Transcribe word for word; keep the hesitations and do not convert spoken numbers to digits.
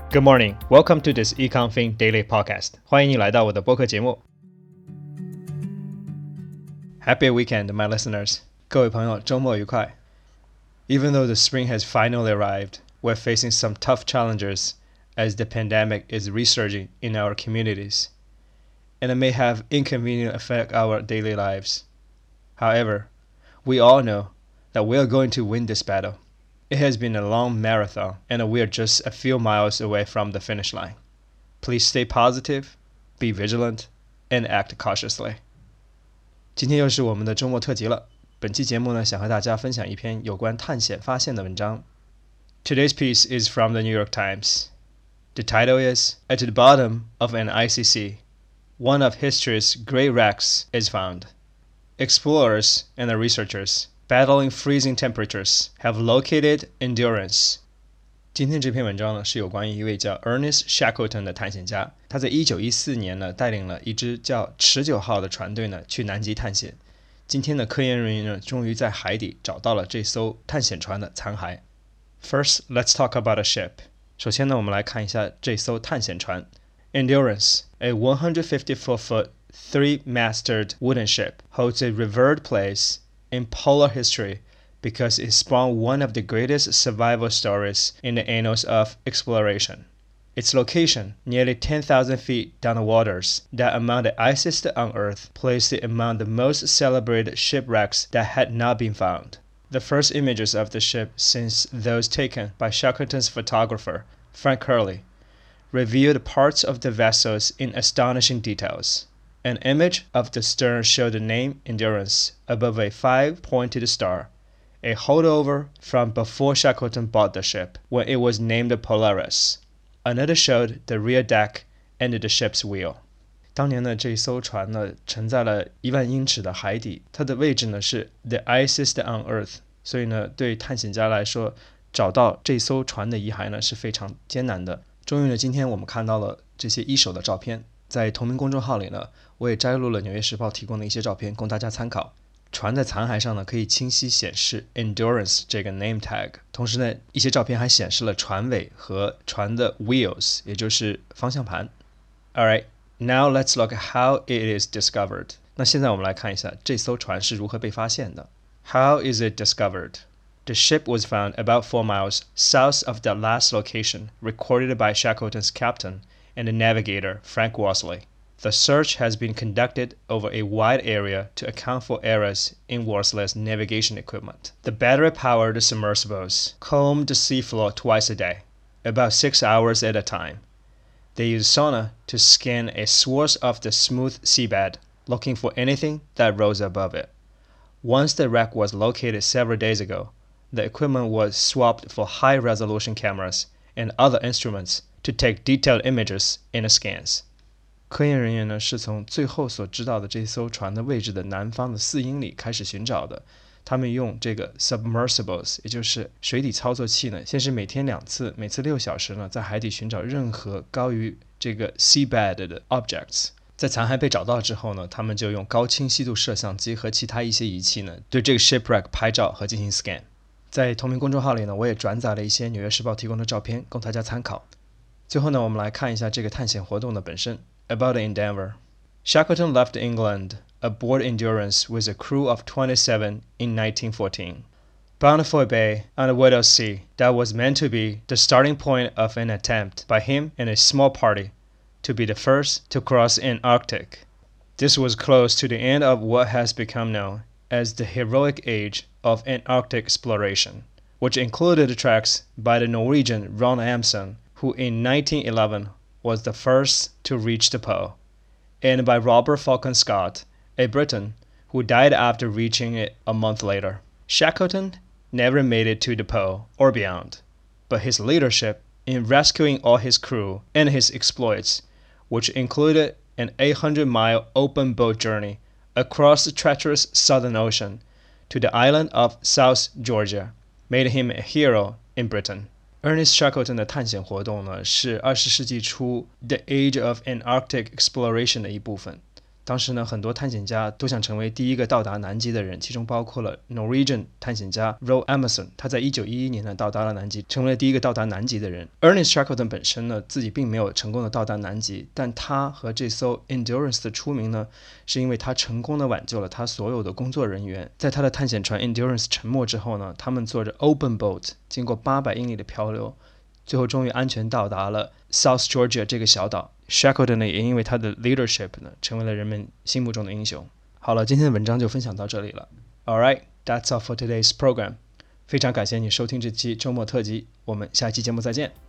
Good morning, welcome to this EconFin Daily Podcast. 欢迎你来到我的播客节目。Happy weekend, my listeners. 各位朋友，周末愉快。Even though the spring has finally arrived, we're facing some tough challenges as the pandemic is resurging in our communities, and it may have inconvenient affect our daily lives. However, we all know that we are going to win this battle. It has been a long marathon, and we are just a few miles away from the finish line. Please stay positive, be vigilant, and act cautiously. 今天又是我们的周末特辑了。本期节目呢，想和大家分享一篇有关探险发现的文章。Today's piece is from the New York Times. The title is At the Bottom of an Icy Sea, One of History's Great Wrecks is Found. Explorers and researchers battling freezing temperatures have located Endurance. 今天这篇文章呢，是有关于一位叫 Ernest Shackleton 的探险家。他在一九一四年呢，带领了一支叫持久号的船队呢，去南极探险。今天的科研人员呢，终于在海底找到了这艘探险船的残骸。First, let's talk about a ship. 首先呢，我们来看一下这艘探险船 Endurance, a one hundred fifty-four foot, three-masted wooden ship, holds a revered place in polar history because it spawned one of the greatest survival stories in the annals of exploration. Its location, nearly ten thousand feet down the waters that among the iciest on Earth, placed it among the most celebrated shipwrecks that had not been found. The first images of the ship since those taken by Shackleton's photographer, Frank Hurley, revealed parts of the vessels in astonishing details. An image of the stern showed the name Endurance above a five-pointed star, a holdover from before Shackleton bought the ship, when it was named Polaris. Another showed the rear deck and the ship's wheel. 当年呢，这艘船呢沉在了一万英尺的海底，它的位置呢是 the iciest on Earth， 所以呢，对探险家来说，找到这艘船的遗骸呢是非常艰难的。终于呢，今天我们看到了这些一手的照片，在同名公众号里呢，我也摘录了《纽约时报》提供的一些照片，供大家参考。船在残骸上呢，可以清晰显示 Endurance 这个 name tag， 同时呢，一些照片还显示了船尾和船的 wheels， 也就是方向盘。Alright, now let's look at how it is discovered. 那现在我们来看一下这艘船是如何被发现的。How is it discovered? The ship was found about four miles south of the last location recorded by Shackleton's captain and the navigator Frank Worsley.The search has been conducted over a wide area to account for errors in Worsley's navigation equipment. The battery-powered submersibles comb the seafloor twice a day, about six hours at a time. They use sonar to scan a swath of the smooth seabed, looking for anything that rose above it. Once the wreck was located several days ago, the equipment was swapped for high-resolution cameras and other instruments to take detailed images in the scans.科研人员呢是从最后所知道的这艘船的位置的南方的四英里开始寻找的。他们用这个 submersibles， 也就是水底操作器呢，先是每天两次，每次六小时呢，在海底寻找任何高于这个 seabed 的 objects。在残骸被找到之后呢，他们就用高清晰度摄像机和其他一些仪器呢，对这个 shipwreck 拍照和进行 scan。在同名公众号里呢，我也转载了一些《纽约时报》提供的照片，供大家参考。最后呢，我们来看一下这个探险活动的本身。About the endeavor. Shackleton left England aboard Endurance with a crew of twenty-seven in nineteen fourteen, bound for a bay on the Weddell Sea that was meant to be the starting point of an attempt by him and a small party to be the first to cross Antarctic. This was close to the end of what has become known as the heroic age of Antarctic exploration, which included treks by the Norwegian Ron Amundsen, who in nineteen eleven was the first to reach the pole, and by Robert Falcon Scott, a Briton, who died after reaching it a month later. Shackleton never made it to the pole or beyond, but his leadership in rescuing all his crew and his exploits, which included an eight hundred mile open boat journey across the treacherous Southern Ocean to the island of South Georgia, made him a hero in Britain.Ernest Shackleton 的探险活动呢，是二十世纪初 The Age of Antarctic Exploration 的一部分。 当时呢，很多探险家都想成为第一个到达南极的人，其中包括了 Norwegian 探险家 Roald Amundsen， 他在一九一一年呢到达了南极，成为了第一个到达南极的人。Ernest Shackleton 本身呢自己并没有成功的到达南极，但他和这艘 Endurance 的出名呢，是因为他成功的挽救了他所有的工作人员。在他的探险船 Endurance 沉没之后呢，他们坐着 Open Boat 经过八百英里的漂流，最后终于安全到达了 South Georgia 这个小岛。Shackleton 呢也因为他的 leadership 呢成为了人们心目中的英雄。好了，今天的文章就分享到这里了。Alright, that's all for today's program. 非常感谢你收听这期周末特辑，我们下期节目再见。